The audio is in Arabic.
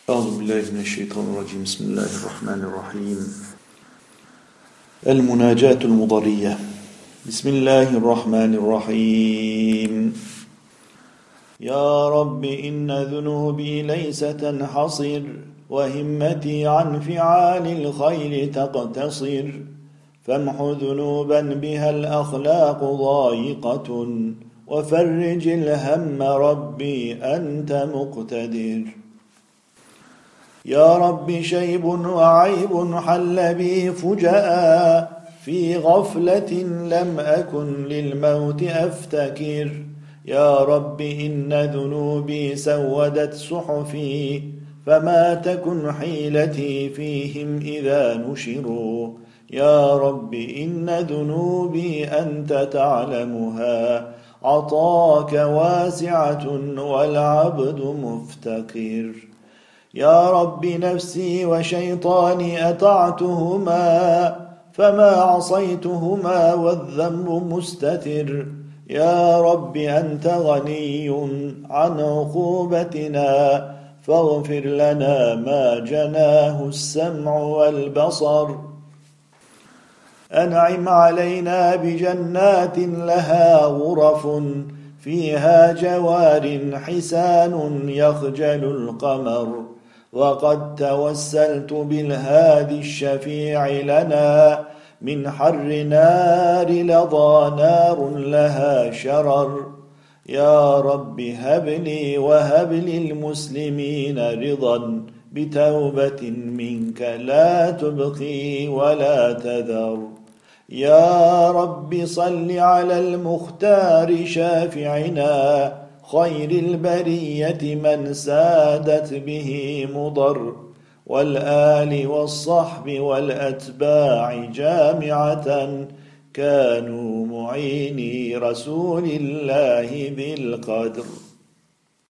أعوذ بالله من الشيطان الرجيم. بسم الله الرحمن الرحيم. المناجاة المضرية. بسم الله الرحمن الرحيم. يا رب إن ذنوبي ليس تنحصر، وهمتي عن فعال الخير تقتصر، فامح ذنوبا بها الأخلاق ضايقة، وفرج الهم ربي أنت مقتدر. يا رب شيب وعيب حل بي فجأة، في غفلة لم أكن للموت أفتكر. يا رب إن ذنوبي سودت صحفي، فما تكن حيلتي فيهم إذا نشروا. يا رب إن ذنوبي أنت تعلمها، عطاك واسعة والعبد مفتقر. يا رب نفسي وشيطاني أطعتهما، فما عصيتهما والذنب مستتر. يا رب أنت غني عن عقوبتنا، فاغفر لنا ما جناه السمع والبصر. أنعم علينا بجنات لها غرف، فيها جوار حسان يخجل القمر. وقد توسلت بالهادي الشفيع لنا، من حر نار لظى نار لها شرر. يا رب هب لي وهب للمسلمين رضا، بتوبة منك لا تبقي ولا تذر. يا رب صل على المختار شافعنا، خير البرية من سادت به مضر، والآل والصحب والأتباع جامعة، كانوا معيني رسول الله ذي القدر.